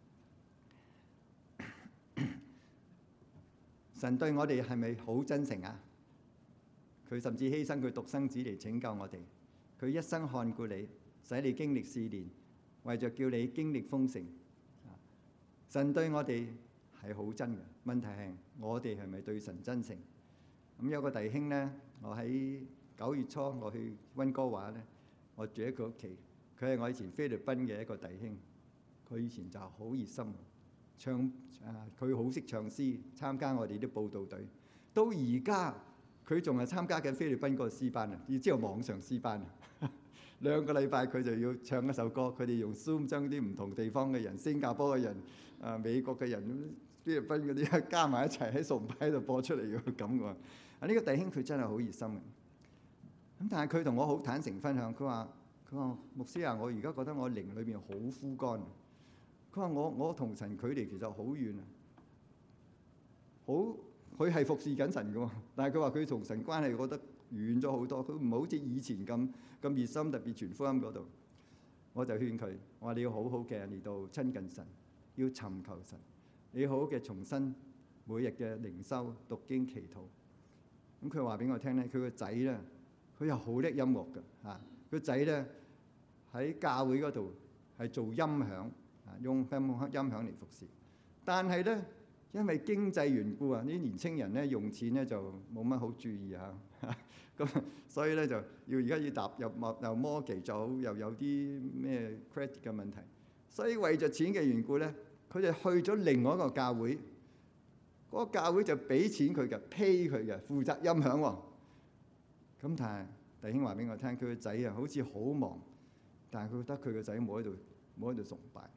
係？神對我哋係咪好真誠啊？佢甚至犧牲佢獨生子嚟拯救我哋，佢一生看顧你，使你經歷試煉，為著叫你經歷豐盛。神對我哋係好真嘅，問題係我哋係咪對神真誠？咁有個弟兄咧，我喺九月初我去溫哥華咧，我住喺佢屋企，佢係我以前菲律賓嘅一個弟兄，佢以前就好熱心，唱啊佢好識唱詩，參加我哋啲佈道隊，到而家佢仲係參加緊菲律賓嗰個詩班啊，要知道網上詩班啊。兩個禮拜佢就要唱一首歌，佢哋用 Zoom 將啲唔同地方嘅人、新加坡嘅人、啊美國嘅人、菲律賓嗰啲加埋一齊喺崇拜度播出嚟嘅咁喎。啊呢個弟兄佢真係好熱心嘅。咁但係佢同我好坦誠分享，佢話：佢話牧師啊，我而家覺得我靈裏邊好枯乾。佢話我我同神距離其實好遠啊，好佢係服侍緊神嘅喎，但係佢話佢同神關係覺得遠咗好多，佢唔好似以前咁咁熱心，特別傳福音嗰度。我就勸佢，我話你要好好嘅嚟到親近神，要尋求神，你要好好嘅重新每日嘅靈修、讀經、祈禱。咁佢話俾我聽咧，佢個仔咧，佢又好叻音樂嘅嚇，個仔咧喺教會嗰度係做音響啊，用音響嚟服侍。但係咧，因為經濟緣故啊，啲年青人咧用錢咧就冇乜好注意嚇，咁所以咧就要而家要踏入又 mortgage 就好，又有啲咩 credit 嘅問題，所以為咗錢嘅緣故咧，佢哋去咗另外一個教會嗰個教會就俾錢佢嘅，pay佢嘅，負責音響喎。咁但係弟兄話俾我聽，佢個仔啊好似好忙，但係佢覺得佢個仔冇喺度冇喺度崇拜。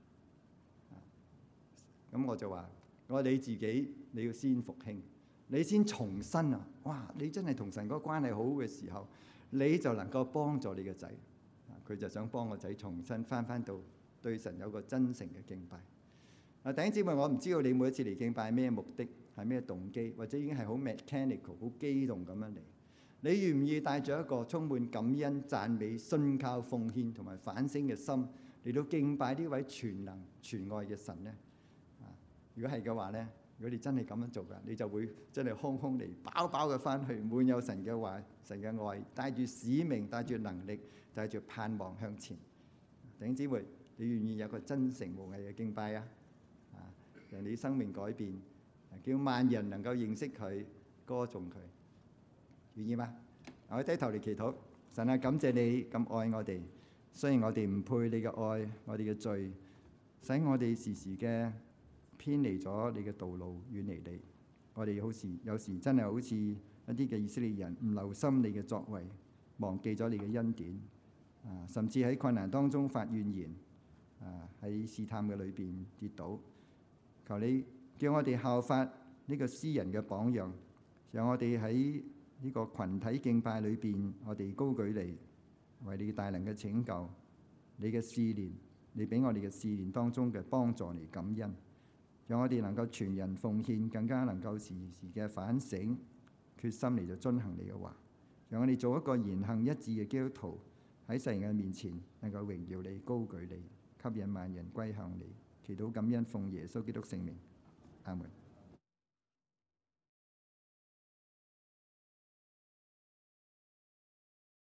咁我就話：我話你自己你要先復興，你先重生啊！哇！你真係同神嗰個關係好嘅時候，你就能夠幫助你個仔。佢就想幫個仔重新翻翻到對神有個真誠嘅敬拜。啊，弟兄姊妹，我唔知道你每一次嚟敬拜咩目的，係咩動機，或者已經係好 mechanical、好機動咁樣嚟。你願唔願意帶住一個充滿感恩、讚美、信靠、奉獻同埋反省嘅心嚟到敬拜呢位全能全愛嘅神呢？如果係嘅話咧，如果你真係咁樣做㗎，你就會真係空空地飽飽嘅翻去，滿有神嘅話、神嘅愛，帶住使命、帶住能力、帶住盼望向前。弟兄姊妹，你願意有個真誠無偽嘅敬拜啊？啊，讓你生命改變，叫萬人能夠認識佢、歌頌佢，願意嗎？我低頭嚟祈禱。神啊，感謝你咁愛我哋，雖然我哋唔配你嘅愛，我哋嘅罪，使我哋時時嘅偏離咗你嘅道路，遠離你。我哋好似有時真係好似一啲嘅以色列人，唔留心你嘅作為，忘記咗你嘅恩典，啊，甚至喺困難當中發怨言，啊，喺試探嘅裏邊跌倒。求你叫我哋效法呢個詩人嘅榜樣，讓我哋喺呢個群體敬拜裏邊，我哋高舉你，為你大能嘅拯救，你嘅試煉，你俾我哋嘅試煉當中嘅幫助嚟感恩。讓我哋能夠全人奉獻，更加能夠時時嘅反省，決心嚟到遵行你嘅話。讓我哋做一個言行一致嘅基督徒，喺世人嘅面前能夠榮耀你、高舉你，吸引萬人歸向你。祈禱感恩，奉耶穌基督聖名，阿門。